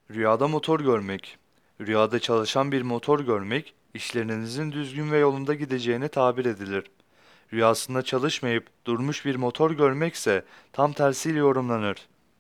Rüyada motor görmek. Rüyada çalışan bir motor görmek, işlerinizin düzgün ve yolunda gideceğine tabir edilir. Rüyasında çalışmayıp durmuş bir motor görmekse tam tersiyle yorumlanır.